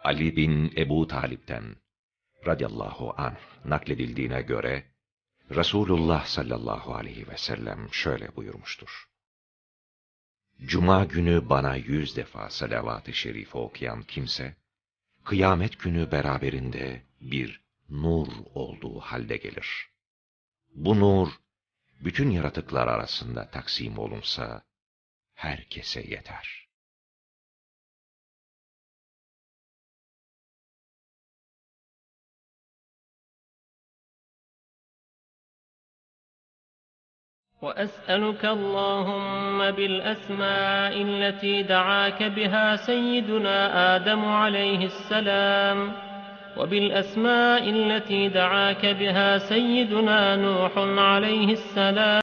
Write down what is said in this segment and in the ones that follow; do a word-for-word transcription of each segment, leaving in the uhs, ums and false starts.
Ali bin Ebu Talip'ten radıyallahu anh nakledildiğine göre Resulullah sallallahu aleyhi ve sellem şöyle buyurmuştur: Cuma günü bana yüz defa salavat-ı şerife okuyan kimse, kıyamet günü beraberinde bir nur olduğu halde gelir. Bu nur, bütün yaratıklar arasında taksim olunsa, herkese yeter. وأسألك اللهم بالأسماء التي دعاك بها سيدنا آدم عليه السلام وبالأسماء التي دعاك بها سيدنا نوح عليه السلام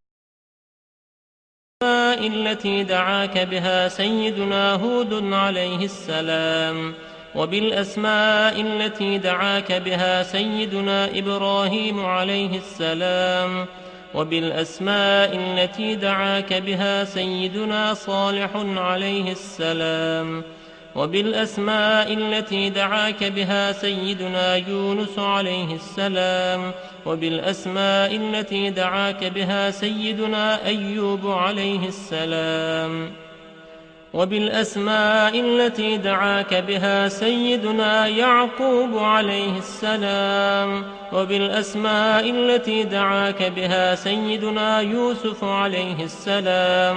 التي دعاك بها سيدنا هود عليه السلام وبالأسماء التي دعاك بها سيدنا إبراهيم عليه السلام وبالأسماء التي دعاك بها سيدنا صالح عليه السلام وبالأسماء التي دعاك بها سيدنا يونس عليه السلام وبالأسماء التي دعاك بها سيدنا أيوب عليه السلام وبالأسماء التي دعاك بها سيدنا يعقوب عليه السلام وبالأسماء التي دعاك بها سيدنا يوسف عليه السلام.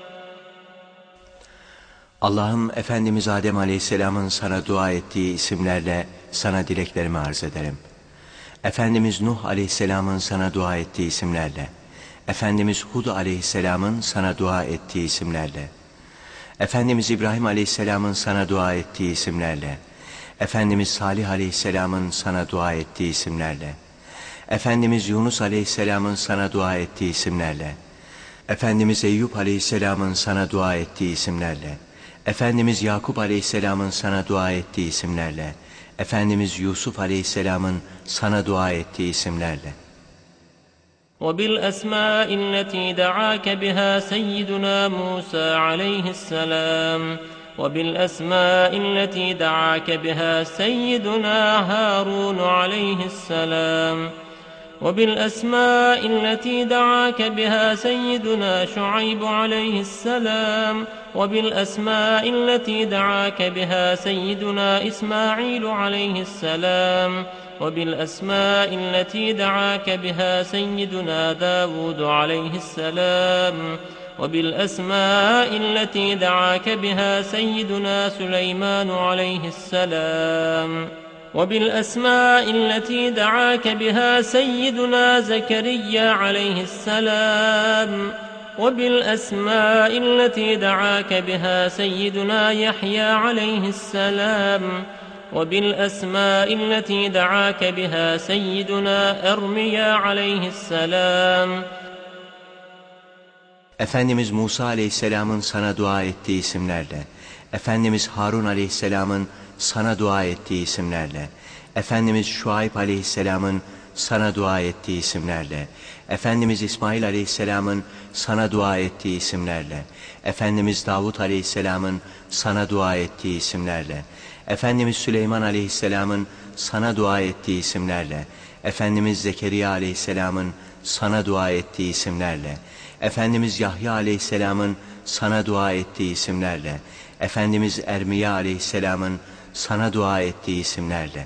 Allah'ım, Efendimiz Adem Aleyhisselam'ın sana dua ettiği isimlerle sana dileklerimi arz ederim. Efendimiz Nuh Aleyhisselam'ın sana dua ettiği isimlerle, Efendimiz Hud Aleyhisselam'ın sana dua ettiği isimlerle, Efendimiz İbrahim Aleyhisselam'ın sana dua ettiği isimlerle, Efendimiz Salih Aleyhisselam'ın sana dua ettiği isimlerle, Efendimiz Yunus Aleyhisselam'ın sana dua ettiği isimlerle, Efendimiz Eyüp Aleyhisselam'ın sana dua ettiği isimlerle, Efendimiz Yakup Aleyhisselam'ın sana dua ettiği isimlerle, Efendimiz Yusuf Aleyhisselam'ın sana dua ettiği isimlerle. وبالأسماء التي دعاك بها سيدنا موسى عليه السلام وبالأسماء التي دعاك بها سيدنا هارون عليه السلام وبالأسماء التي دعاك بها سيدنا شعيب عليه السلام وبالأسماء التي دعاك بها سيدنا إسماعيل عليه السلام وبالأسماء التي دعاك بها سيدنا داود عليه السلام وبالأسماء التي دعاك بها سيدنا سليمان عليه السلام وبالأسماء التي دعاك بها سيدنا زكريا عليه السلام وبالأسماء التي دعاك بها سيدنا يحيى عليه السلام وبالأسماء التي دعاك بها سيدنا أرميا عليه السلام. Efendimiz Musa Aleyhisselam'ın sana dua ettiği isimlerle, Efendimiz Harun Aleyhisselam'ın sana dua ettiği isimlerle, Efendimiz Şuayb Aleyhisselam'ın sana dua ettiği isimlerle, Efendimiz İsmail Aleyhisselam'ın sana dua ettiği isimlerle, Efendimiz Davud Aleyhisselam'ın sana dua ettiği isimlerle, Efendimiz Süleyman Aleyhisselam'ın sana dua ettiği isimlerle, Efendimiz Zekeriya Aleyhisselam'ın sana dua ettiği isimlerle, Efendimiz Yahya Aleyhisselam'ın sana dua ettiği isimlerle, Efendimiz Ermiya Aleyhisselam'ın sana dua ettiği isimlerle.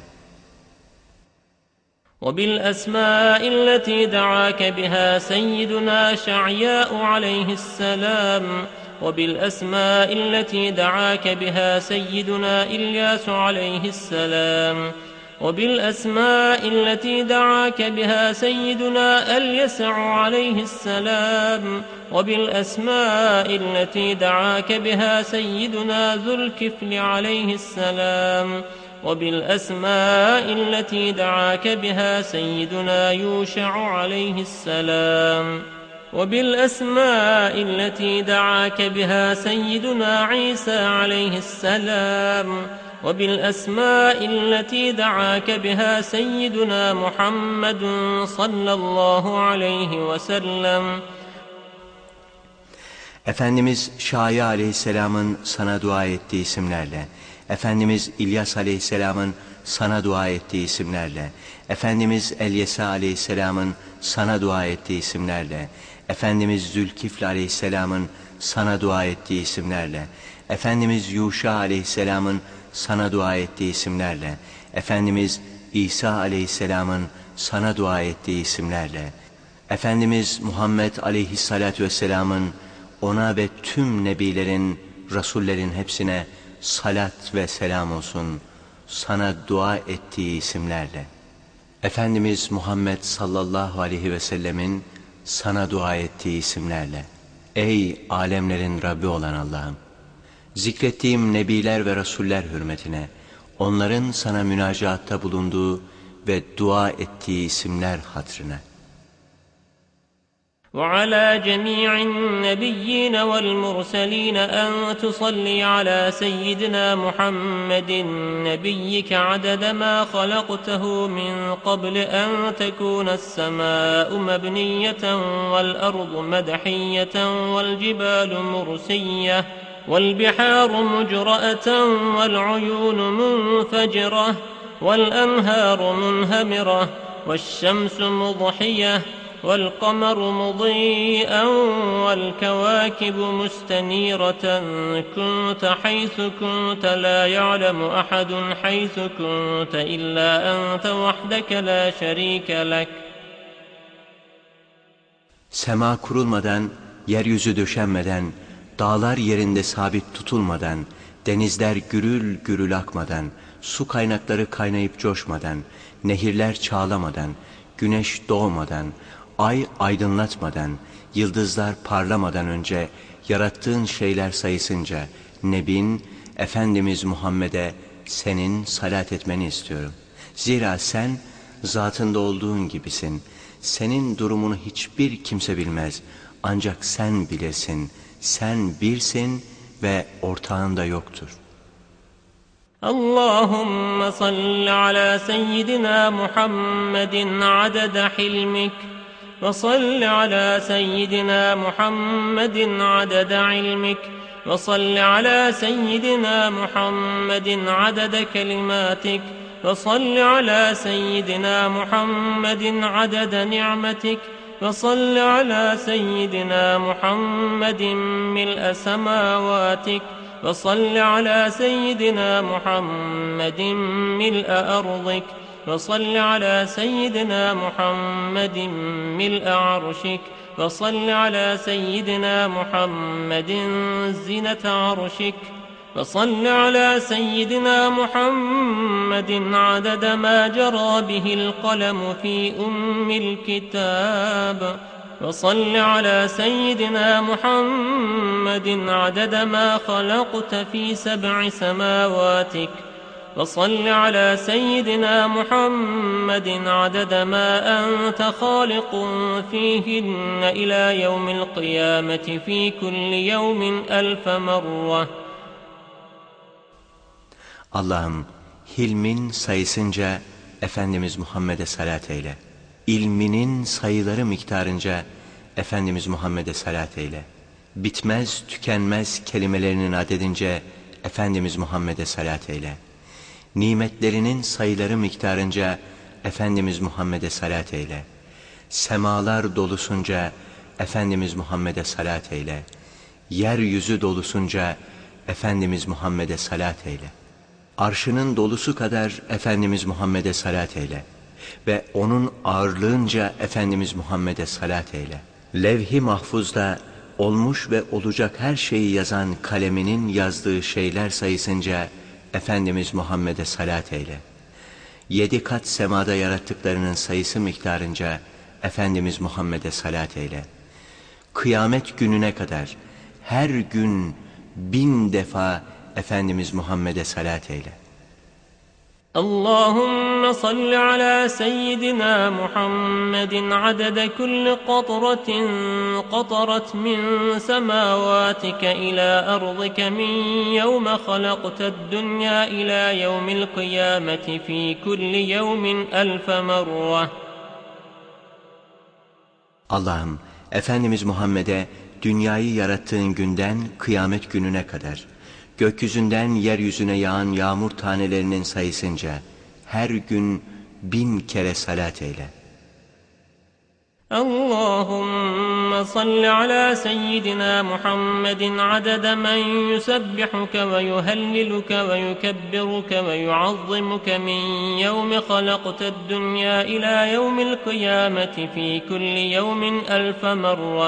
وبالأسماء التي دعاك بها سيدنا شعياء عليه السلام وبالأسماء التي دعاك بها سيدنا إلياس عليه السلام وبالأسماء التي دعاك بها سيدنا اليسع عليه السلام وبالأسماء التي دعاك بها سيدنا ذو الكفل عليه السلام وبالأسماء التي دعاك بها سيدنا يوشع عليه السلام وبالأسماء التي دعاك بها سيدنا عيسى عليه السلام وبالأسماء التي دعاك بها سيدنا محمد صلى الله عليه وسلم. Efendimiz Şaya Aleyhisselam'ın sana dua ettiği isimlerle, Efendimiz İlyas Aleyhisselam'ın sana dua ettiği isimlerle, Efendimiz Elyesa Aleyhisselam'ın sana dua ettiği isimlerle, Efendimiz Zülkifl Aleyhisselam'ın sana dua ettiği isimlerle, Efendimiz Yuşa Aleyhisselam'ın sana dua ettiği isimlerle, Efendimiz İsa Aleyhisselam'ın sana dua ettiği isimlerle, Efendimiz Muhammed Aleyhisselatü Vesselam'ın ona ve tüm nebilerin, rasullerin hepsine salat ve selam olsun, sana dua ettiği isimlerle, Efendimiz Muhammed sallallahu aleyhi ve sellemin sana dua ettiği isimlerle, ey alemlerin Rabbi olan Allah'ım, zikrettiğim nebiler ve rasuller hürmetine, onların sana münacaatta bulunduğu ve dua ettiği isimler hatrına. وعلى جميع النبيين والمرسلين أن تصلي على سيدنا محمد نبيك عدد ما خلقته من قبل أن تكون السماء مبنية والأرض مدحية والجبال مرسية والبحار مجرأة والعيون منفجرة والأنهار منهمرة والشمس مضحية والقمر مضيئا والكواكب مستنيرة كنت حيث كنت لا يعلم أحد حيث كنت إلا أنت وحدك لا شريك لك. Sema kurulmadan, yeryüzü döşenmeden, dağlar yerinde sabit tutulmadan, denizler gürül gürül akmadan, su kaynakları kaynayıp coşmadan, nehirler çağlamadan, güneş doğmadan, ay aydınlatmadan, yıldızlar parlamadan önce yarattığın şeyler sayısınca Nebin, Efendimiz Muhammed'e senin salat etmeni istiyorum. Zira sen zatında olduğun gibisin. Senin durumunu hiçbir kimse bilmez. Ancak sen bilirsin. Sen birsin ve ortağın da yoktur. Allahümme salli ala seyyidina Muhammedin adede hilmik ve salli ala seyyidina Muhammedin adede ilmik ve salli ala seyyidina Muhammedin adede kelimatik ve salli ala seyyidina Muhammedin adede ni'metik ve salli ala seyyidina Muhammedin mil'e semavatik ve salli ala seyyidina Muhammedin mil'e arzik ve salli ala seyyidina Muhammedin mil'e arşik ve salli ala seyyidina Muhammedin zinete arşik ve salli ala seyyidina Muhammedin adede ma cera bihil kalemu fi ummil kitab ve salli ala seyyidina Muhammedin adede ma halakte fi seb'i semavatik ve salli ala seyyidina Muhammedin adede ma ente halikun fihinne ila yevmil kıyameti fi kulli yevmin elfe merre. Allah'ım, hilmin sayısınca Efendimiz Muhammed'e salat eyle. İlminin sayıları miktarınca Efendimiz Muhammed'e salat eyle. Bitmez tükenmez kelimelerinin adedince Efendimiz Muhammed'e salat eyle. Nimetlerinin sayıları miktarınca Efendimiz Muhammed'e salat eyle. Semalar dolusunca Efendimiz Muhammed'e salat eyle. Yeryüzü dolusunca Efendimiz Muhammed'e salat eyle. Arşının dolusu kadar Efendimiz Muhammed'e salat eyle ve onun ağırlığınca Efendimiz Muhammed'e salat eyle. Levh-i mahfuzda olmuş ve olacak her şeyi yazan kaleminin yazdığı şeyler sayısınca Efendimiz Muhammed'e salat eyle. Yedi kat semada yarattıklarının sayısı miktarınca Efendimiz Muhammed'e salat eyle. Kıyamet gününe kadar her gün bin defa Efendimiz Muhammed'e salat eyle. Allahümme salli ala seyyidina Muhammedin adede kulli qatratin qatarat min semavatike ila ardike min yevme halakted dünya ila yevmil kıyameti fi kulli yevmin elfe merre. Allah'ım, Efendimiz Muhammed'e dünyayı yarattığın günden kıyamet gününe kadar Gökyüzünden yeryüzüne yağan yağmur tanelerinin sayısınca her gün bin kere salat eyle. Allahümme salli ala seyyidina Muhammedin adede men yusebbihuke ve yuhelliluke ve yukebbiruke ve yuazzimuke min yevmi halakted dünya ila yevmil kıyameti fi kulli yevmin elfe merre.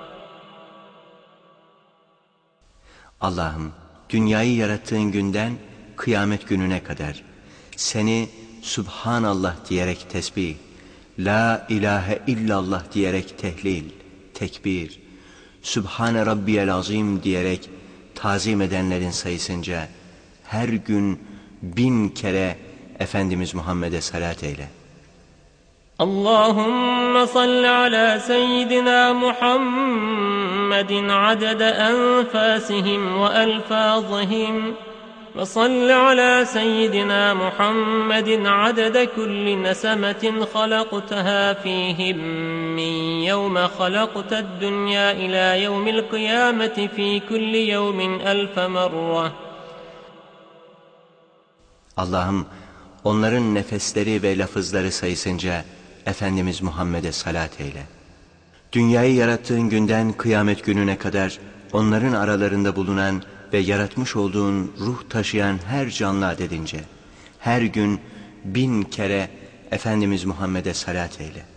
Allah'ım, dünyayı yarattığın günden kıyamet gününe kadar seni Subhanallah diyerek tesbih, La ilahe illallah diyerek tehlil, tekbir, Sübhane Rabbiyel Azim diyerek tazim edenlerin sayısınca her gün bin kere Efendimiz Muhammed'e salat eyle. Allahümme salli ala seyyidina Muhammedin adede enfasihim ve elfazihim ve salli ala seyyidina Muhammedin adede kulli nesemetin halaktaha fihim min yevme halakted dünya ila yevmil kıyameti fi kulli yevmin elfe merre. Allah'ım, onların nefesleri ve lafızları sayısınca Efendimiz Muhammed'e salat eyle. Dünyayı yarattığın günden kıyamet gününe kadar onların aralarında bulunan ve yaratmış olduğun ruh taşıyan her canlı adedince her gün bin kere Efendimiz Muhammed'e salat eyle.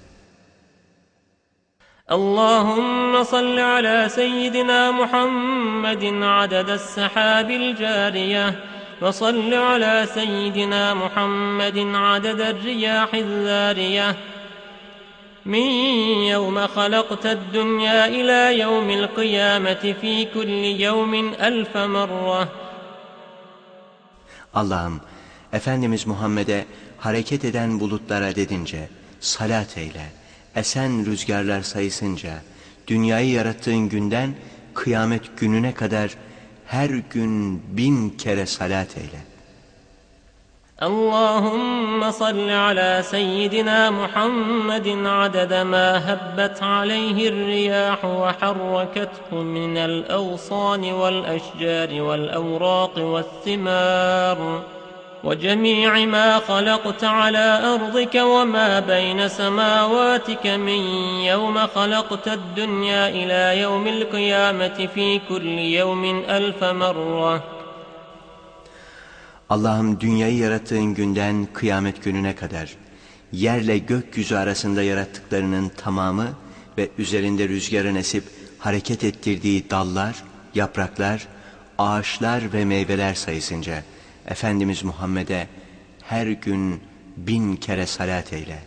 Allahümme salli ala seyyidina Muhammedin adedes sahabil cariyeh ve salli ala seyyidina Muhammedin adeder riyahil zariyeh min yevme halakted dünya ila yevmil kıyameti fi kulli yevmin elfe merre. Allah'ım, Efendimiz Muhammed'e hareket eden bulutlara dedince salat eyle. Esen rüzgarlar sayısınca dünyayı yarattığın günden kıyamet gününe kadar her gün bin kere salat eyle. Allahümme salli ala seyyidina Muhammedin adede ma hebbet aleyhir riyahu ve harrekethu minel evsani vel eşcari vel evraqi vel thimar ve cemi'i ma halakta ala ardike ve ma beyne semavatike min yevme halakted dünya ila yevmil kıyameti fi kulli yevmin elfe merre. Allah'ım, dünyayı yarattığın günden kıyamet gününe kadar yerle gökyüzü arasında yarattıklarının tamamı ve üzerinde rüzgarın esip hareket ettirdiği dallar, yapraklar, ağaçlar ve meyveler sayısınca Efendimiz Muhammed'e her gün bin kere salat eyle.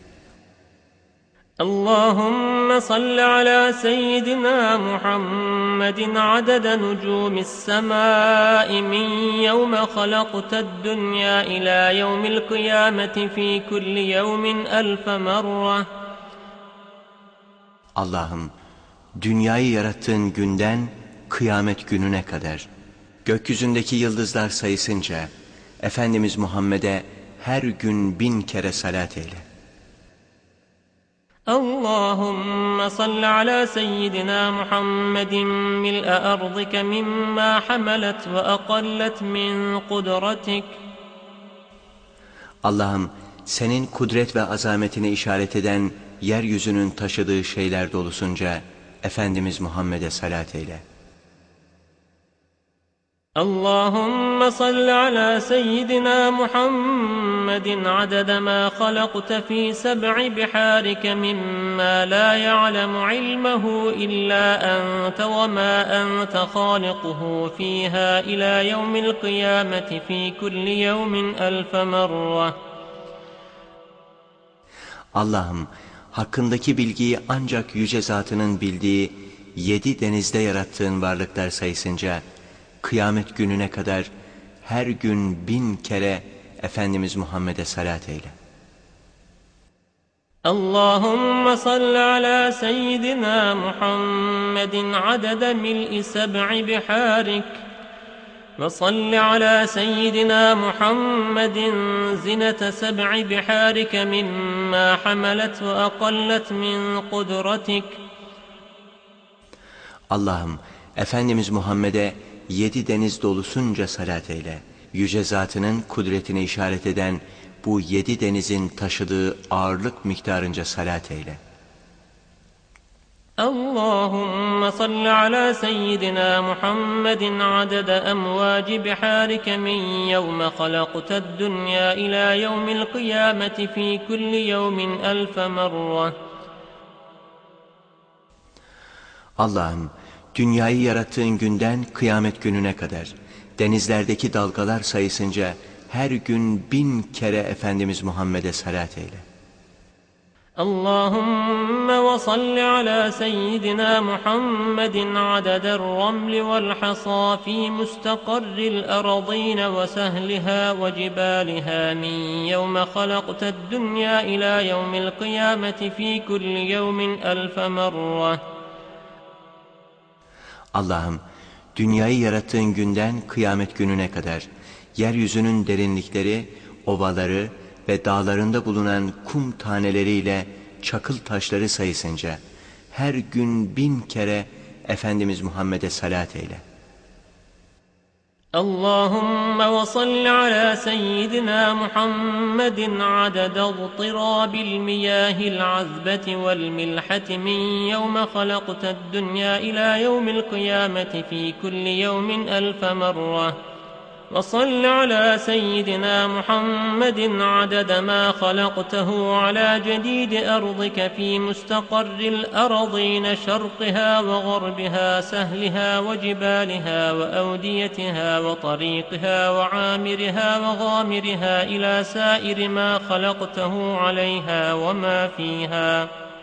Allahümme salli ala seyyidina Muhammedin adede nucumis semâi min yevme halakted dünya ila yevmil kıyameti fi kulli yevmin elfe merre. Allah'ım, dünyayı yarattığın günden kıyamet gününe kadar gökyüzündeki yıldızlar sayısınca Efendimiz Muhammed'e her gün bin kere salat eyle. Allahümme salli ala seyyidina Muhammedin mil'e ardike mimma hamelet ve akallet min kudretik. Allah'ım, senin kudret ve azametine işaret eden yeryüzünün taşıdığı şeyler dolusunca Efendimiz Muhammed'e salat eyle. Allahümme salli ala seyyidina Muhammedin adede ma halakte fi seb'i biharike mimma la ya'lemu ilmehu illa ente ve ma ente halikuhu fiha ila yevmil kıyameti fi kulli yevmin elfe merre. Allah'ım, hakkındaki bilgiyi ancak Yüce Zatının bildiği yedi denizde yarattığın varlıklar sayısınca kıyamet gününe kadar her gün bin kere Efendimiz Muhammed'e salat eyle. Allahümme salli ala seyyidina Muhammedin adede mil'i seb'i biharik ve salli ala seyyidina Muhammedin zinete seb'i biharike mimma hamelet ve akallet min kudretik. Allah'ım, Efendimiz Muhammed'e yedi deniz dolusunca salat eyle. Yüce Zatının kudretine işaret eden bu yedi denizin taşıdığı ağırlık miktarınca salat eyle. Allahümme salli ala seyyidina Muhammedin adede emvaci biharike min yevme halakted dünya ila yevmil kıyameti fi kulli yevmin elfe merre. Allah'ım, dünyayı yarattığın günden kıyamet gününe kadar denizlerdeki dalgalar sayısınca her gün bin kere Efendimiz Muhammed'e salat eyle. Allahümme ve salli ala seyyidina Muhammedin adeder ramli vel hasa fi müstakarril eradine ve sehliha ve cibaliha min yevme halakted dünya ila yevmil kıyameti fi kulli yevmin elfe merre. Allah'ım, dünyayı yarattığın günden kıyamet gününe kadar yeryüzünün derinlikleri, ovaları ve dağlarında bulunan kum taneleriyle çakıl taşları sayısınca her gün bin kere Efendimiz Muhammed'e salat eyle. Allahümme ve salli ala seyyidina Muhammedin adede ıtirabil miyahil azbeti vel milhati min yevme halakted dünya ila yevmil kıyameti fi kulli yevmin elfe merre. وصل على سيدنا محمد عدد ما خلقته على جديد أرضك في مستقر الأرضين شرقها وغربها سهلها وجبالها وأوديتها وطريقها وعامرها وغامرها إلى سائر ما خلقته عليها وما فيها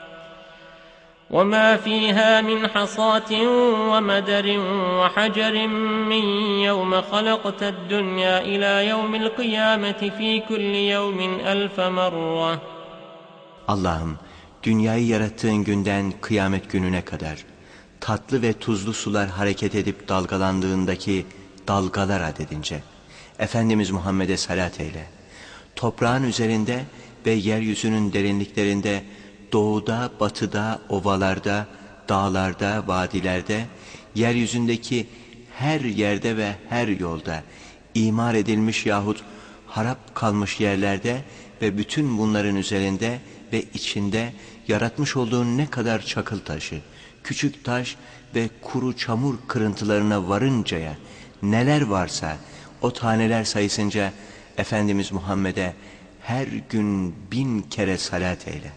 وما فيها من حصاة ومدر وحجر من يوم خلقت الدنيا إلى يوم القيامة في كل يوم ألف مرة. Allah'ım, dünyayı yarattığın günden kıyamet gününe kadar tatlı ve tuzlu sular hareket edip dalgalandığındaki dalgalar adedince Efendimiz Muhammed'e salat eyle. Toprağın üzerinde ve yeryüzünün derinliklerinde, doğuda, batıda, ovalarda, dağlarda, vadilerde, yeryüzündeki her yerde ve her yolda, imar edilmiş yahut harap kalmış yerlerde ve bütün bunların üzerinde ve içinde yaratmış olduğun ne kadar çakıl taşı, küçük taş ve kuru çamur kırıntılarına varıncaya neler varsa o taneler sayısınca Efendimiz Muhammed'e her gün bin kere salat eyle.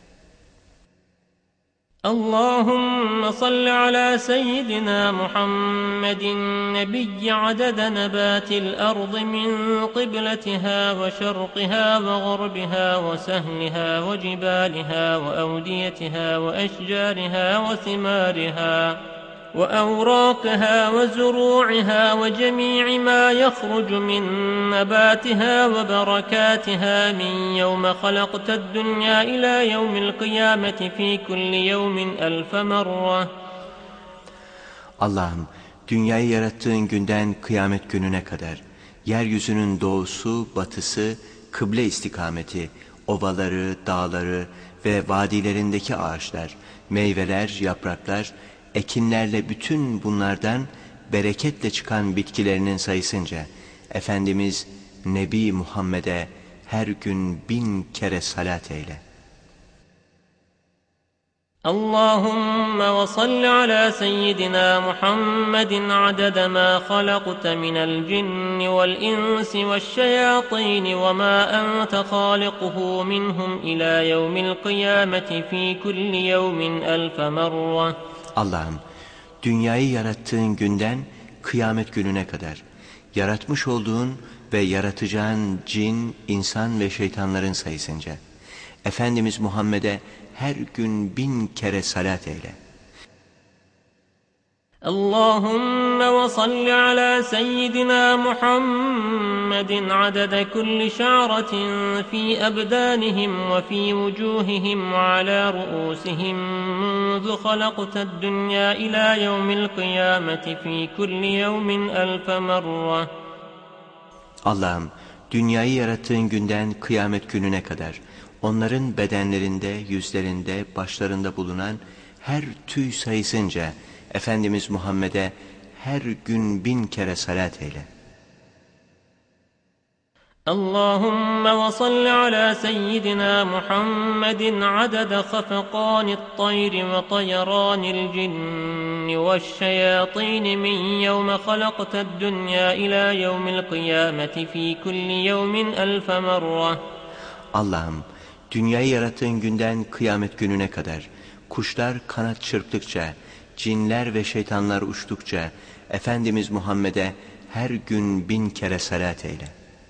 اللهم صل على سيدنا محمد النبي عدد نبات الأرض من قبلتها وشرقها وغربها وسهلها وجبالها وأوديتها وأشجارها وثمارها وأوراقها وزروعها وجميع ما يخرج من نباتها وبركاتها من يوم خلقت الدنيا إلى يوم القيامة في كل يوم ألف مرة. Allah'ım, dünyayı yarattığın günden kıyamet gününe kadar yeryüzünün doğusu, batısı, kıble istikameti, ovaları, dağları ve vadilerindeki ağaçlar, meyveler, yapraklar, ekinlerle bütün bunlardan bereketle çıkan bitkilerinin sayısınca Efendimiz Nebi Muhammed'e her gün bin kere salat eyle. اللهم وصل على سيدنا محمد عدد ما خلقت من الجن والإنس والشياطين وما أنت خالقه منهم إلى يوم القيامة في كل يوم ألف مرة. Allah'ım, dünyayı yarattığın günden kıyamet gününe kadar yaratmış olduğun ve yaratacağın cin, insan ve şeytanların sayısınca Efendimiz Muhammed'e her gün bin kere salat eyle. اللهم وصل على سيدنا محمد عدد كل شعرة في أبدانهم وفي وجوههم وعلى رؤوسهم منذ خلقت الدنيا إلى يوم القيامة في كل يوم ألف مرة. Allah'ım, dünyayı yarattığın günden kıyamet gününe kadar onların bedenlerinde, yüzlerinde, başlarında bulunan her tüy sayısınca Efendimiz Muhammed'e her gün bin kere salat eyle. اللهم وصل على سيدنا محمد عدد خفقان الطير وطيران الجن والشياطين من يوم خلقت الدنيا إلى يوم القيامة في كل يوم ألف مرة. Allah'ım, dünyayı yarattığın günden kıyamet gününe kadar, kuşlar kanat çırptıkça, cinler ve şeytanlar uçtukça, Efendimiz Muhammed'e her gün bin kere salat eyle.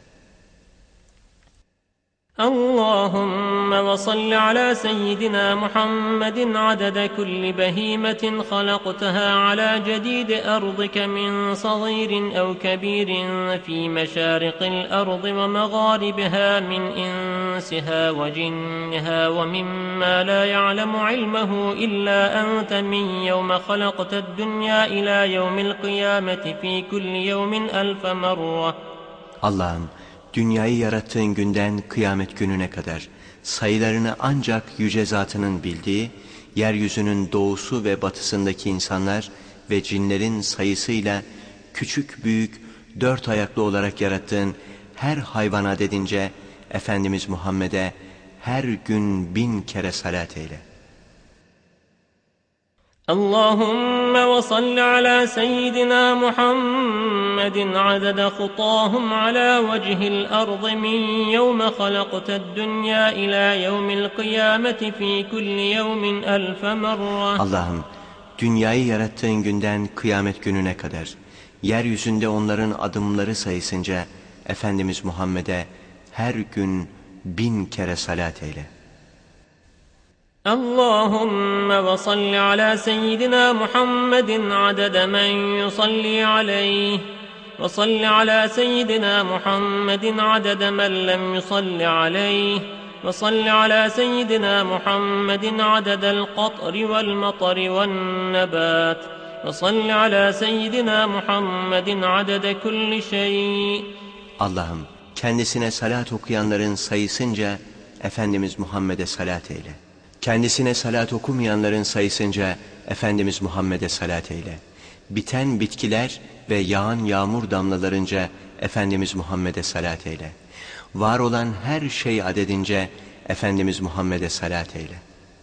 اللهم وصل على سيدنا محمد عدد كل بهيمة خلقتها على جديد أرضك من صغير أو كبير في مشارق الأرض ومغاربها من إنسها وجنها ومما لا يعلم علمه إلا أنت من يوم خلقت الدنيا إلى يوم القيامة في كل يوم ألف مرة. Allah'ım, dünyayı yarattığın günden kıyamet gününe kadar sayılarını ancak yüce zatının bildiği, yeryüzünün doğusu ve batısındaki insanlar ve cinlerin sayısıyla küçük büyük dört ayaklı olarak yarattığın her hayvan adedince Efendimiz Muhammed'e her gün bin kere salat eyle. اللهم وصل على سيدنا محمد عدد خطاهم على وجه الأرض من يوم خلقت الدنيا إلى يوم القيامة في كل يوم ألف مرة. Allah'ım, dünyayı yarattığın günden kıyamet gününe kadar yeryüzünde onların adımları sayısınca Efendimiz Muhammed'e her gün bin kere salat eyle. اللهم وصل على سيدنا محمد عدد من يصلي عليه وصل على سيدنا محمد عدد من لم يصل عليه وصل على سيدنا محمد عدد القطر والمطر والنبات وصل على سيدنا محمد عدد كل شيء. Allah'ım, kendisine salat okuyanların sayısınca Efendimiz Muhammed'e salat eyle. Kendisine salat okumayanların sayısınca Efendimiz Muhammed'e salat eyle. Biten bitkiler ve yağan yağmur damlalarınca Efendimiz Muhammed'e salat eyle. Var olan her şey adedince Efendimiz Muhammed'e salat eyle.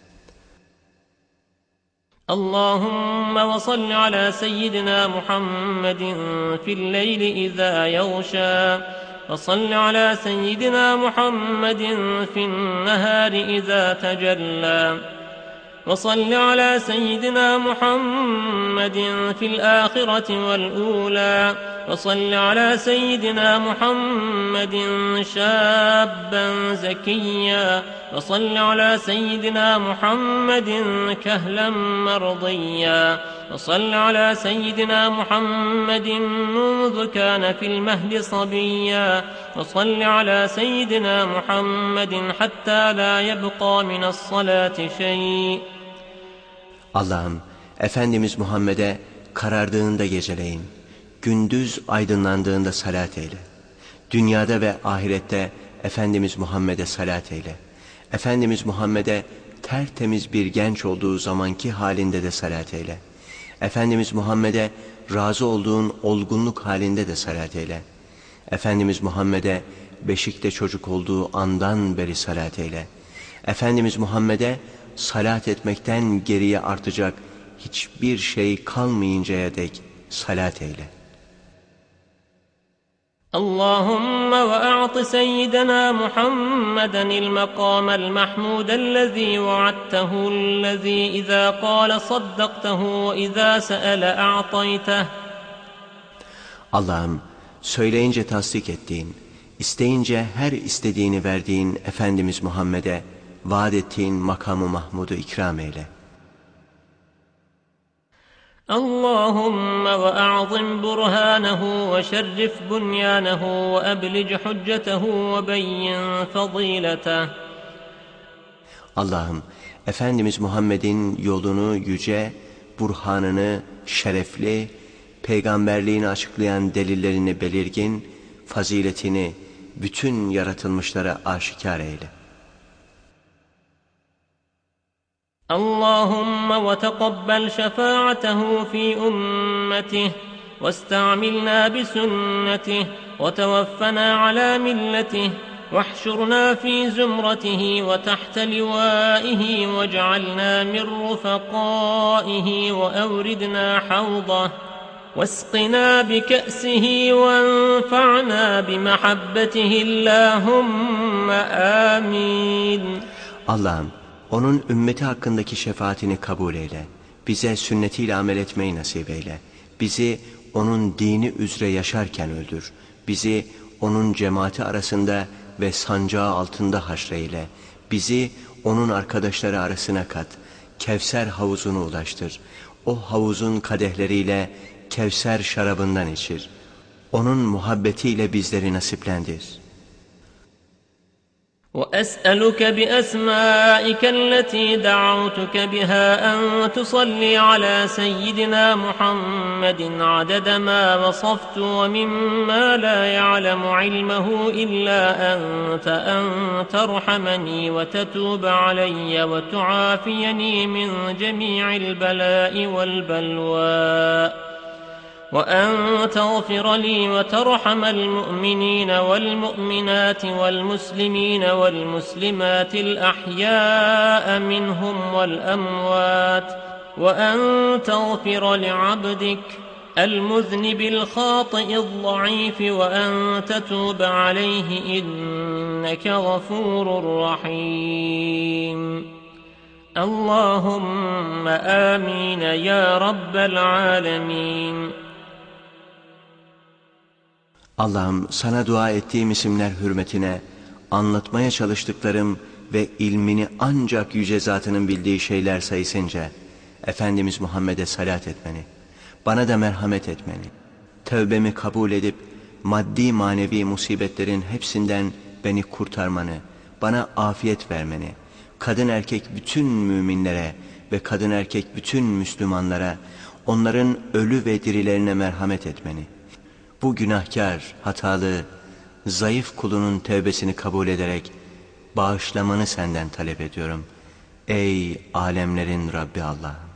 اللهم وصل على سيدنا محمد في الليل إذا يغشى وصل على سيدنا محمد في النهار إذا تجلى وصل على سيدنا محمد في الآخرة والأولى وصل على سيدنا محمد شابا زكيا وصل على سيدنا محمد كهلا مرضيا وصل على سيدنا محمد منذ كان في المهد صبيا وصل على سيدنا محمد حتى لا يبقى من الصلاة شيء. Allah'ım, Efendimiz Muhammed'e karardığında geceleyin, gündüz aydınlandığında salat eyle. Dünyada ve ahirette Efendimiz Muhammed'e salat eyle. Efendimiz Muhammed'e tertemiz bir genç olduğu zamanki halinde de salat eyle. Efendimiz Muhammed'e razı olduğun olgunluk halinde de salat eyle. Efendimiz Muhammed'e beşikte çocuk olduğu andan beri salat eyle. Efendimiz Muhammed'e salat etmekten geriye artacak hiçbir şey kalmayıncaya dek salat eyle. اللهم وأعط سيدنا محمدا المقام المحمود الذي وعدته الذي إذا قال صدقته وإذا سأل أعطيته. Allah'ım, söyleyince tasdik ettiğin, isteyince her istediğini verdiğin Efendimiz Muhammed'e vaat ettiğin makamı Mahmud'u ikram eyle. اللهم وأعظم برهانه وشرف بنيانه وأبلج حجته وبين فضيلته. Allah'ım, Efendimiz Muhammed'in yolunu yüce, burhanını şerefli, peygamberliğini açıklayan delillerini belirgin, faziletini bütün yaratılmışlara aşikar eyle. اللهم وتقبل شفاعته في أمته واستعملنا بسنته وتوفنا على ملته واحشرنا في زمرته وتحت لوائه واجعلنا من رفقائه وأوردنا حوضه واسقنا بكأسه وانفعنا بمحبته اللهم آمين. Allah'ım onun ümmeti hakkındaki şefaatini kabul eyle. Bize sünnetiyle amel etmeyi nasip eyle. Bizi onun dini üzere yaşarken öldür. Bizi onun cemaati arasında ve sancağı altında haşreyle. Bizi onun arkadaşları arasına kat. Kevser havuzunu ulaştır. O havuzun kadehleriyle Kevser şarabından içir. Onun muhabbetiyle bizleri nasiplendir. وأسألك بأسمائك التي دعوتك بها أن تصلي على سيدنا محمد عدد ما وصفت ومما لا يعلم علمه إلا أنت أن ترحمني وتتوب علي وتعافيني من جميع البلاء والبلوى وأن تغفر لي وترحم المؤمنين والمؤمنات والمسلمين والمسلمات الأحياء منهم والأموات وأن تغفر لعبدك المذنب الخاطئ الضعيف وأن تتوب عليه إنك غفور رحيم. اللهم آمين يا رب العالمين. Allah'ım sana dua ettiğim isimler hürmetine anlatmaya çalıştıklarım ve ilmini ancak yüce zatının bildiği şeyler sayısınca Efendimiz Muhammed'e salat etmeni, bana da merhamet etmeni, tövbemi kabul edip maddi manevi musibetlerin hepsinden beni kurtarmanı, bana afiyet vermeni, kadın erkek bütün müminlere ve kadın erkek bütün Müslümanlara, onların ölü ve dirilerine merhamet etmeni, bu günahkar, hatalı, zayıf kulunun tevbesini kabul ederek bağışlamanı senden talep ediyorum. Ey alemlerin Rabbi Allah'ım.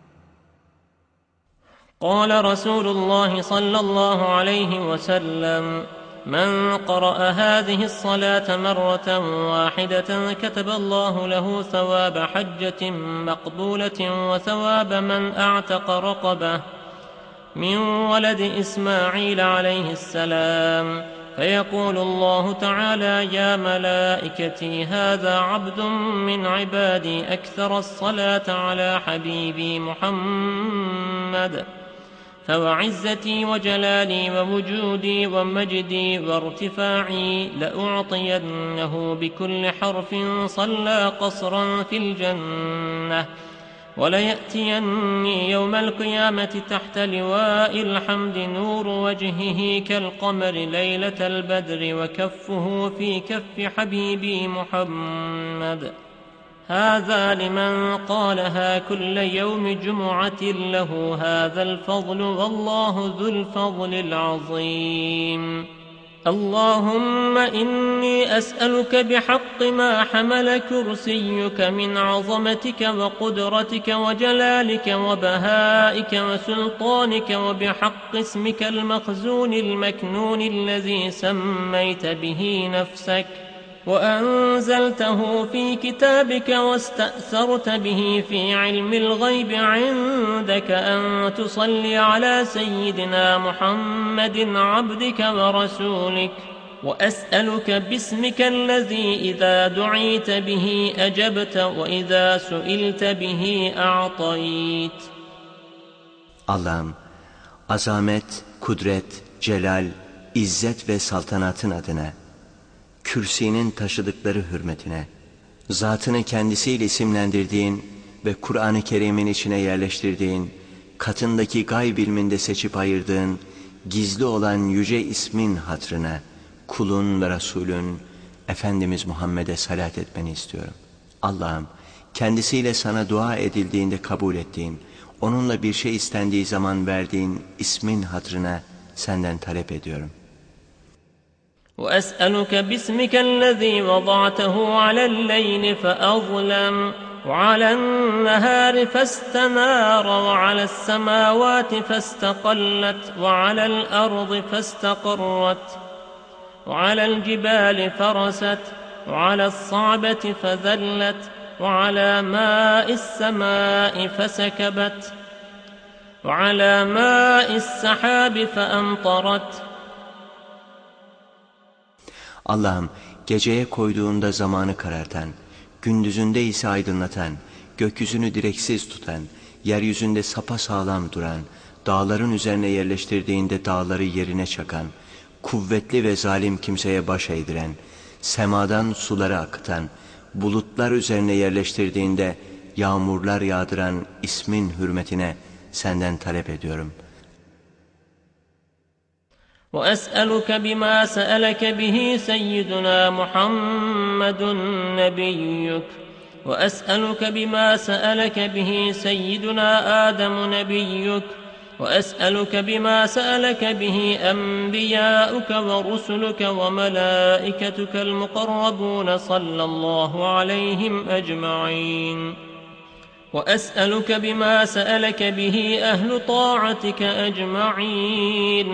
قال رسول الله صلى الله عليه وسلم من قرأ هذه الصلاة مرة واحدة كتب الله له ثواب حجة مقبولة وثواب من أعتق رقبة من ولد إسماعيل عليه السلام فيقول الله تعالى يا ملائكتي هذا عبد من عبادي أكثر الصلاة على حبيبي محمد فوعزتي وجلالي ووجودي ومجدي وارتفاعي لأعطينه بكل حرف صلى قصرا في الجنة وليأتيني يوم القيامة تحت لواء الحمد نور وجهه كالقمر ليلة البدر وكفه في كف حبيبي محمد هذا لمن قالها كل يوم جمعة له هذا الفضل والله ذو الفضل العظيم. اللهم إني أسألك بحق ما حمل كرسيك من عظمتك وقدرتك وجلالك وبهائك وسلطانك وبحق اسمك المخزون المكنون الذي سميت به نفسك وأنزلته في كتابك واستأثرت به في علم الغيب عندك أن تصلي على سيدنا محمد عبدك ورسولك وأسألك باسمك الذي إذا دعيت به أجبت وإذا سئلت به أعطيت. Allah'ım, azamet, kudret, celal, izzet ve saltanatın adına, kürsinin taşıdıkları hürmetine, zatını kendisiyle isimlendirdiğin ve Kur'an-ı Kerim'in içine yerleştirdiğin, katındaki gayb ilminde seçip ayırdığın, gizli olan yüce ismin hatrına, kulun ve Resulün, Efendimiz Muhammed'e salat etmeni istiyorum. Allah'ım, kendisiyle sana dua edildiğinde kabul ettiğin, onunla bir şey istendiği zaman verdiğin ismin hatrına senden talep ediyorum. وأسألك باسمك الذي وضعته على الليل فأظلم وعلى النهار فاستنار وعلى السماوات فاستقلت وعلى الأرض فاستقرت وعلى الجبال فرست وعلى الصعبة فذلت وعلى ماء السماء فسكبت وعلى ماء السحاب فأمطرت. Allah'ım, geceye koyduğunda zamanı karartan, gündüzünde ise aydınlatan, gökyüzünü direksiz tutan, yeryüzünde sapasağlam duran, dağların üzerine yerleştirdiğinde dağları yerine çakan, kuvvetli ve zalim kimseye baş eğdiren, semadan suları akıtan, bulutlar üzerine yerleştirdiğinde yağmurlar yağdıran ismin hürmetine senden talep ediyorum. وأسألك بما سألك به سيدنا محمد نبيك وأسألك بما سألك به سيدنا آدم نبيك وأسألك بما سألك به أنبياؤك ورسلك وملائكتك المقربون صلى الله عليهم أجمعين وأسألك بما سألك به أهل طاعتك أجمعين.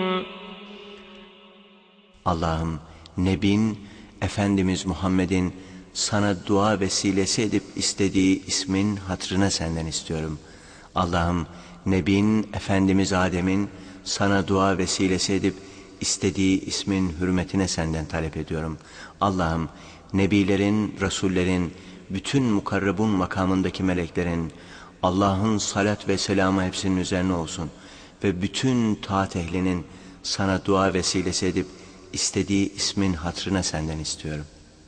Allah'ım, Nebin, Efendimiz Muhammed'in sana dua vesilesi edip istediği ismin hatırına senden istiyorum. Allah'ım, Nebin, Efendimiz Adem'in sana dua vesilesi edip istediği ismin hürmetine senden talep ediyorum. Allah'ım, Nebilerin, Resullerin, bütün mukarrabun makamındaki meleklerin, Allah'ın salat ve selamı hepsinin üzerine olsun ve bütün taat ehlinin sana dua vesilesi edip istediği ismin hatırına senden istiyorum.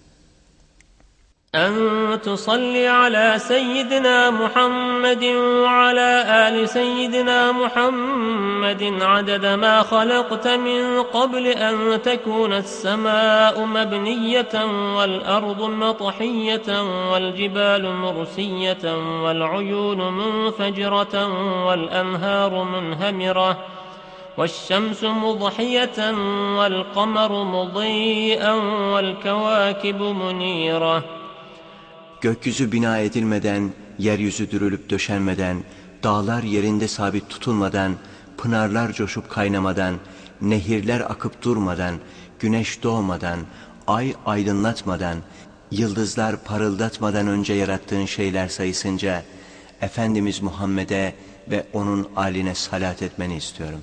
أن تصلي على سيدنا محمد وعلى آل سيدنا محمد عدد ما خلقت من قبل أن تكون السماء مبنية والأرض مطحية والجبال مرسية والعيون منفجرة والأنهار منهمرة والشمس مضحية والقمر مضيئا والكواكب منيرة. Gökyüzü bina edilmeden, yeryüzü dürülüp döşenmeden, dağlar yerinde sabit tutulmadan, pınarlar coşup kaynamadan, nehirler akıp durmadan, güneş doğmadan, ay aydınlatmadan, yıldızlar parıldatmadan önce yarattığın şeyler sayısınca Efendimiz Muhammed'e ve onun âline salat etmeni istiyorum.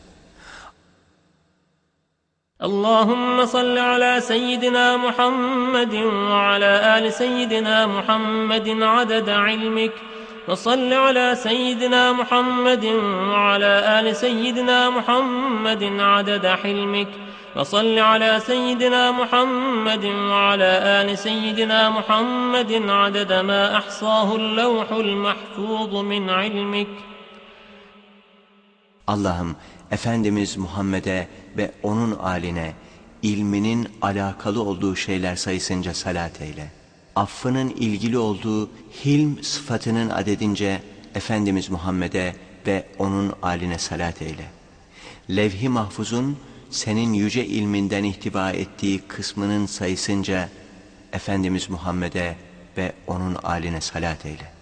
اللهم صل على سيدنا محمد وعلى آل سيدنا محمد عدد علمك وصل على سيدنا محمد وعلى آل سيدنا محمد عدد حلمك وصل على سيدنا محمد وعلى آل سيدنا محمد عدد ما أحصاه اللوح المحفوظ من علمك. Allah'ım, Efendimiz Muhammed'e ve onun âline ilminin alakalı olduğu şeyler sayısınca salat eyle. Affının ilgili olduğu hilm sıfatının adedince Efendimiz Muhammed'e ve onun âline salat eyle. Levh-i mahfuzun senin yüce ilminden ihtiva ettiği kısmının sayısınca Efendimiz Muhammed'e ve onun âline salat eyle.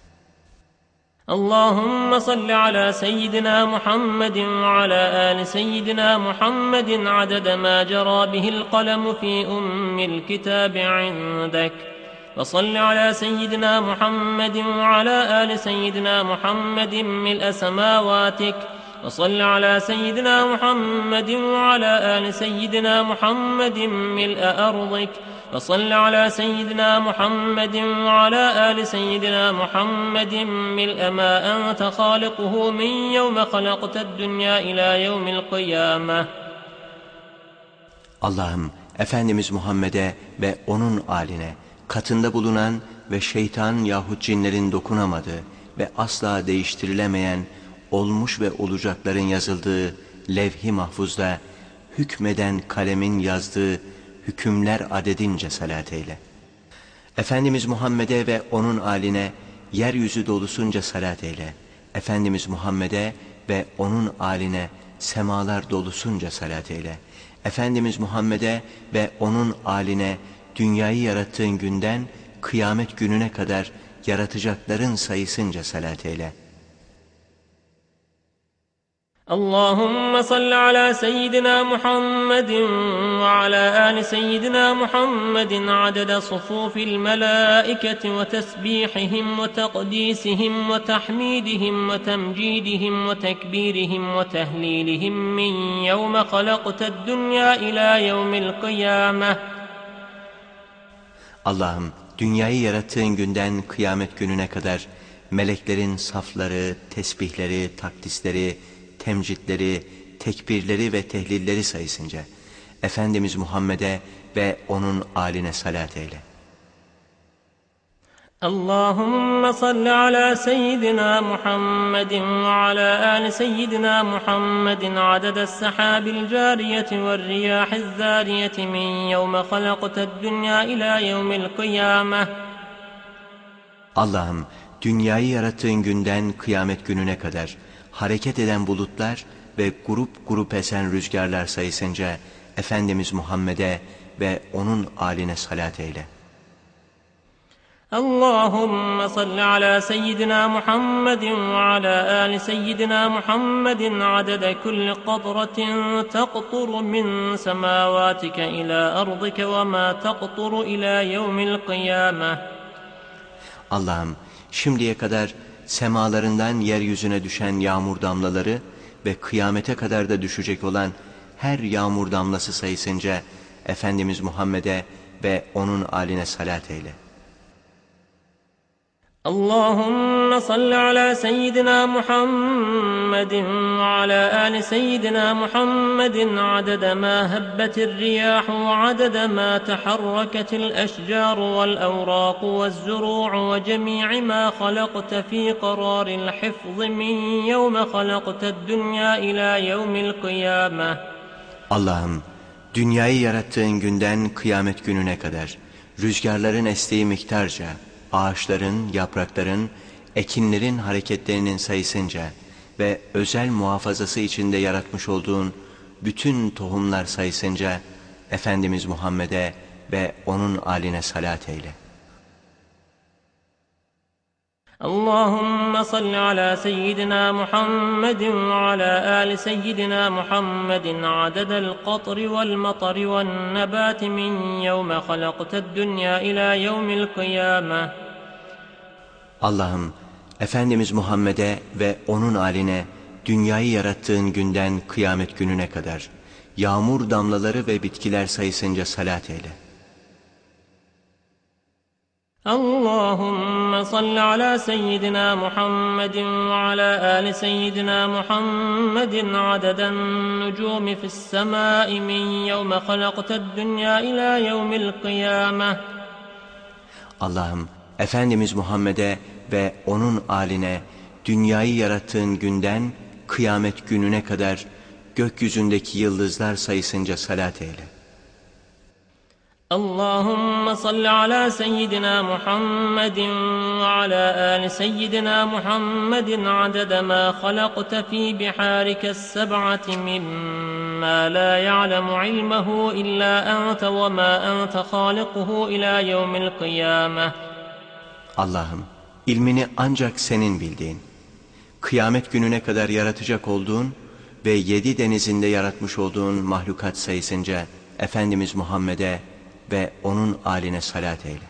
اللهم صل على سيدنا محمد وعلى آل سيدنا محمد عدد ما جرى به القلم في أم الكتاب عندك وصل على سيدنا محمد وعلى آل سيدنا محمد ملء سماواتك وصل على سيدنا محمد وعلى آل سيدنا محمد ملء أرضك وصل على سيدنا محمد وعلى آل سيدنا محمد ملء ما أنت خالقه من يوم خلقت الدنيا إلى يوم القيامة. Allah'ım, Efendimiz Muhammed'e ve onun âline katında bulunan ve şeytan yahut cinlerin dokunamadığı ve asla değiştirilemeyen olmuş ve olacakların yazıldığı levh-i mahfuzda hükmeden kalemin yazdığı hükümler adedince salat eyle. Efendimiz Muhammed'e ve onun âline yeryüzü dolusunca salat eyle. Efendimiz Muhammed'e ve onun âline semalar dolusunca salat eyle. Efendimiz Muhammed'e ve onun âline dünyayı yarattığın günden kıyamet gününe kadar yaratacakların sayısınca salat eyle. اللهم صل على سيدنا محمد وعلى آل سيدنا محمد عدد صفوف الملائكة وتسبيحهم وتقديسهم وتحميدهم وتمجيدهم وتكبيرهم وتهليلهم من يوم خلقت الدنيا إلى يوم القيامة. Allah'ım, dünyayı yarattığın günden kıyamet gününe kadar meleklerin safları, tesbihleri, takdisleri, temcitleri, tekbirleri ve tehlilleri sayısınca Efendimiz Muhammed'e ve onun âline salat eyle. اللهم صل على سيدنا محمد وعلى آل سيدنا محمد عدد السحاب الجارية والرياح الزارية من يوم خلقت الدنيا إلى يوم القيامة. Allah'ım, dünyayı yarattığın günden kıyamet gününe kadar hareket eden bulutlar ve grup grup esen rüzgarlar sayısınca Efendimiz Muhammed'e ve onun âline salat eyle. اللهم صل على سيدنا محمد وعلى آل سيدنا محمد عدد كل قطرة تقطر من سماواتك إلى أرضك وما تقطر إلى يوم القيامة. Allah'ım, şimdiye kadar semalarından yeryüzüne düşen yağmur damlaları ve kıyamete kadar da düşecek olan her yağmur damlası sayısınca Efendimiz Muhammed'e ve onun âline salat eyle. اللهم صل على سيدنا محمد وعلى آل سيدنا محمد عدد ما هبت الرياح وعدد ما تحركت الأشجار والأوراق والزروع وجميع ما خلقت في قرار الحفظ من يوم خلقت الدنيا إلى يوم القيامة. Allah'ım, dünyayı yarattığın günden kıyamet gününe kadar rüzgarların estiği miktarca, ağaçların, yaprakların, ekinlerin hareketlerinin sayısınca ve özel muhafazası içinde yaratmış olduğun bütün tohumlar sayısınca Efendimiz Muhammed'e ve onun âline salat eyle. اللهم صل على سيدنا محمد وعلى آل سيدنا محمد عدد القطر والمطر والنبات من يوم خلقت الدنيا إلى يوم القيامة. Allah'ım, Efendimiz Muhammed'e ve onun âline dünyayı yarattığın günden kıyamet gününe kadar yağmur damlaları ve bitkiler sayısınca salat eyle. اللهم صل على سيدنا محمد وعلى آل سيدنا محمد عدد النجوم في السماء من يوم خلقت الدنيا إلى يوم القيامة. Allah'ım, Efendimiz Muhammed'e ve onun âline dünyayı yarattığın günden kıyamet gününe kadar gökyüzündeki yıldızlar sayısınca salat eyle. اللهم صل على سيدنا محمد وعلى آل سيدنا محمد عدد ما خلقت في بحارك السبعة مما لا يعلم علمه إلا أنت وما أنت خالقه إلى يوم القيامة. Allah'ım, ilmini ancak senin bildiğin, kıyamet gününe kadar yaratacak olduğun ve yedi denizinde yaratmış olduğun mahlukat sayısınca Efendimiz Muhammed'e ve onun âline salat eyle.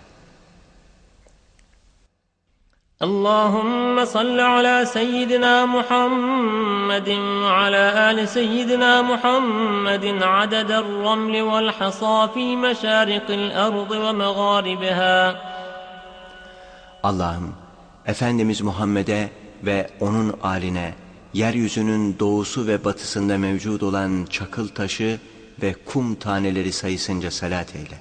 اللهم صل على سيدنا محمد وعلى آل سيدنا محمد عدد الرمل والحصى في مشارق الأرض ومغاربها. Allah'ım, Efendimiz Muhammed'e ve onun âline yeryüzünün doğusu ve batısında mevcut olan çakıl taşı ve kum taneleri sayısınca salat eyle.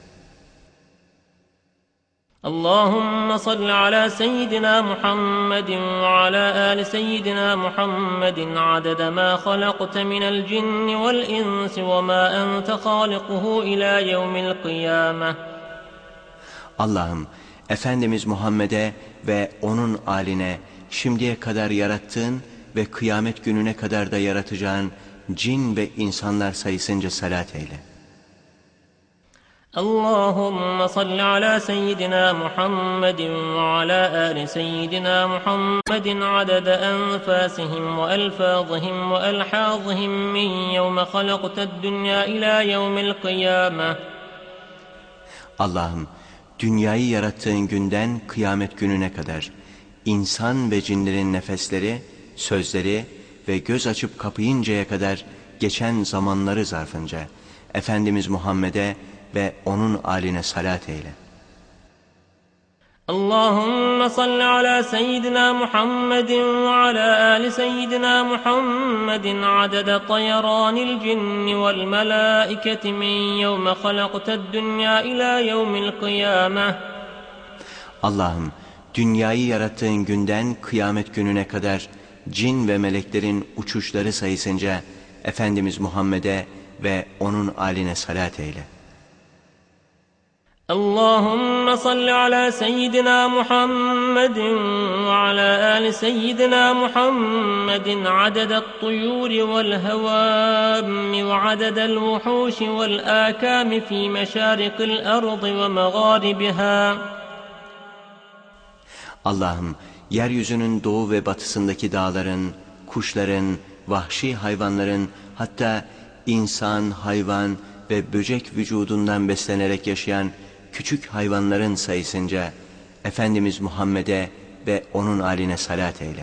اللهم صل على سيدنا محمد وعلى آل سيدنا محمد عدد ما خلقت من الجن والإنس وما أنت خالقه إلى يوم القيامة. Allah'ım, Efendimiz Muhammed'e ve onun âline şimdiye kadar yarattığın ve kıyamet gününe kadar da yaratacağın cin ve insanlar sayısınca salat eyle. اللهم صل على سيدنا محمد وعلى آل سيدنا محمد عدد أنفاسهم وألفاظهم وألحاظهم من يوم خلقت الدنيا إلى يوم القيامة. Allah'ım, dünyayı yarattığın günden kıyamet gününe kadar insan ve cinlerin nefesleri, sözleri ve göz açıp kapayıncaya kadar geçen zamanları zarfınca Efendimiz Muhammed'e ve onun âline salat eyle. اللهم صل على سيدنا محمد وعلى آل سيدنا محمد عدد طيران الجن والملائكة من يوم خلقت الدنيا إلى يوم القيامة. Allah'ım, dünyayı yarattığın günden kıyamet gününe kadar cin ve meleklerin uçuşları sayısınca Efendimiz Muhammed'e ve onun âline salat eyle. اللهم صل على سيدنا محمد وعلى آل سيدنا محمد عدد الطيور والهوام وعدد الوحوش والآكام في مشارق الأرض ومغاربها. Allah'ım, yeryüzünün doğu ve batısındaki dağların, kuşların, vahşi hayvanların, hatta insan, hayvan ve böcek vücudundan beslenerek yaşayan küçük hayvanların sayısınca Efendimiz Muhammed'e ve onun âline salat eyle.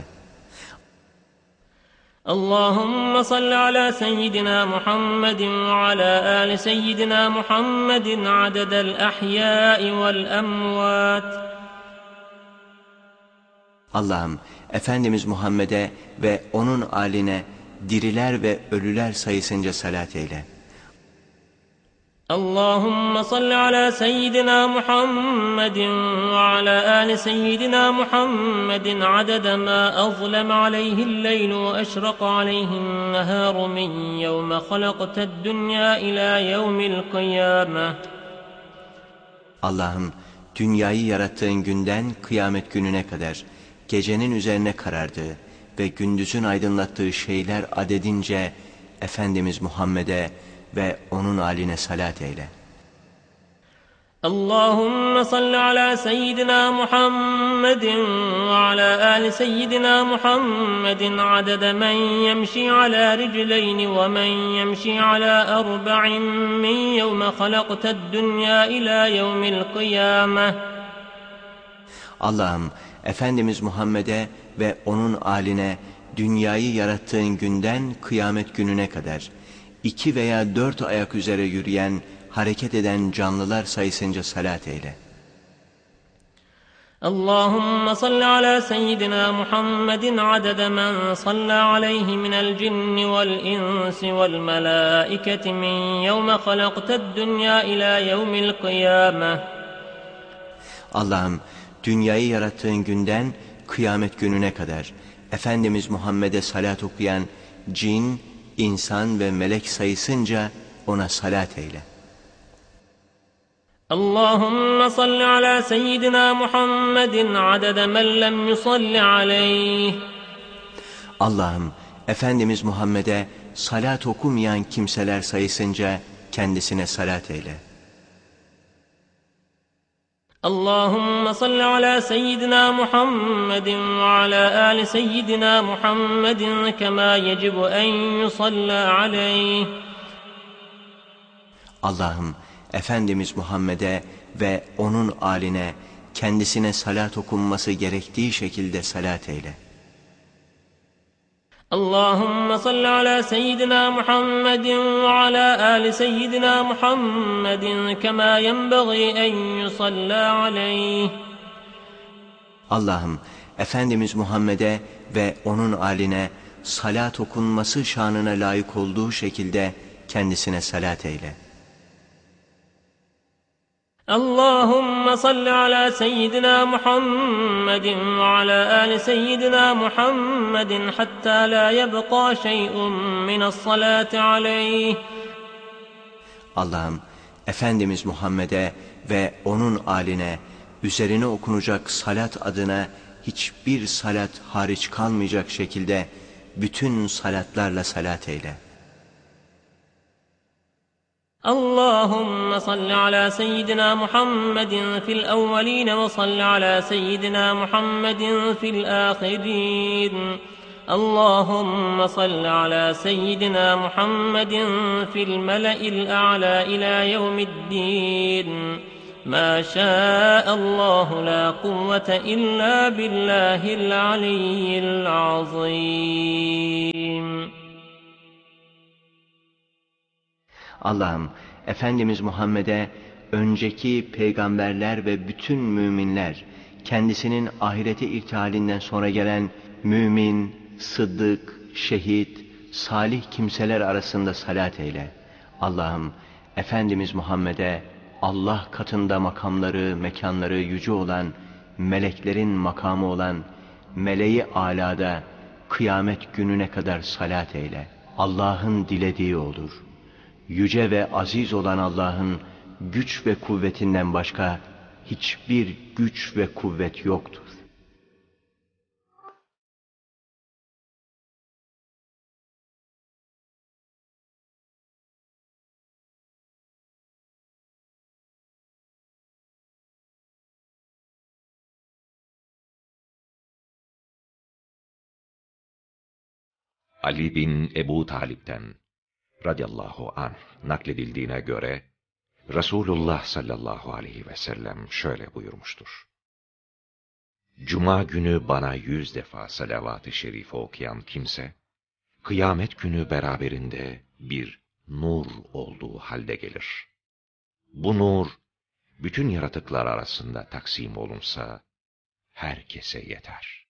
اللهم صل على سيدنا محمد وعلى آل سيدنا محمد عدد الأحياء والأموات. Allah'ım, Efendimiz Muhammed'e ve onun âline diriler ve ölüler sayısınca salat eyle. اللهم صل على سيدنا محمد وعلى آل سيدنا محمد عدد ما أظلم عليه الليل وأشرق عليه النهار من يوم خلقت الدنيا إلى يوم القيامة. Allah'ım, dünyayı yarattığın günden kıyamet gününe kadar gecenin üzerine karardığı ve gündüzün aydınlattığı şeyler adedince Efendimiz Muhammed'e ve onun âline salat eyle. اللهم صل على سيدنا محمد وعلى آل سيدنا محمد عدد من يمشي على رجلين ومن يمشي على أربع من يوم خلقت الدنيا إلى يوم القيامة. Allah'ım, Efendimiz Muhammed'e ve onun âline dünyayı yarattığın günden kıyamet gününe kadar iki veya dört ayak üzere yürüyen, hareket eden canlılar sayısınca salat eyle. اللهم صل على سيدنا محمد عدد من صلى عليه من الجن والإنس والملائكة من يوم خلقت الدنيا إلى يوم القيامة. Allah'ım, dünyayı yarattığın günden kıyamet gününe kadar Efendimiz Muhammed'e salat okuyan cin, insan ve melek sayısınca ona salat eyle. اللهم صل على سيدنا محمد عدد من لم يصل عليه. Allah'ım, Efendimiz Muhammed'e salat okumayan kimseler sayısınca kendisine salat eyle. اللهم صل على سيدنا محمد وعلى آل سيدنا محمد كما يجب أن يصلى عليه. Allah'ım, Efendimiz Muhammed'e ve onun âline kendisine salat okunması gerektiği şekilde salat eyle. اللهم صل على سيدنا محمد وعلى آل سيدنا محمد كما ينبغي أن يصلى عليه. Allah'ım, Efendimiz Muhammed'e ve onun âline salat okunması şanına layık olduğu şekilde kendisine salat eyle. اللهم صل على سيدنا محمد وعلى آل سيدنا محمد حتى لا يبقى شيء من الصلاة عليه. Allah'ım, Efendimiz Muhammed'e ve onun âline üzerine okunacak salat adına hiçbir salat hariç kalmayacak şekilde bütün salatlarla salat eyle. اللهم صل على سيدنا محمد في الأولين وصل على سيدنا محمد في الآخرين. اللهم صل على سيدنا محمد في الملأ الأعلى إلى يوم الدين. ما شاء الله لا قوة إلا بالله العلي العظيم. Allah'ım, Efendimiz Muhammed'e önceki peygamberler ve bütün müminler, kendisinin ahirete irtihalinden sonra gelen mümin, sıddık, şehit, salih kimseler arasında salat eyle. Allah'ım, Efendimiz Muhammed'e Allah katında makamları, mekanları yüce olan, meleklerin makamı olan meleği alada kıyamet gününe kadar salat eyle. Allah'ın dilediği olur. Yüce ve aziz olan Allah'ın güç ve kuvvetinden başka hiçbir güç ve kuvvet yoktur. Ali bin Ebu Talip'ten radıyallahu anh nakledildiğine göre Resulullah sallallahu aleyhi ve sellem şöyle buyurmuştur. Cuma günü bana yüz defa salavat-ı şerife okuyan kimse, kıyamet günü beraberinde bir nur olduğu halde gelir. Bu nur, bütün yaratıklar arasında taksim olunsa, herkese yeter.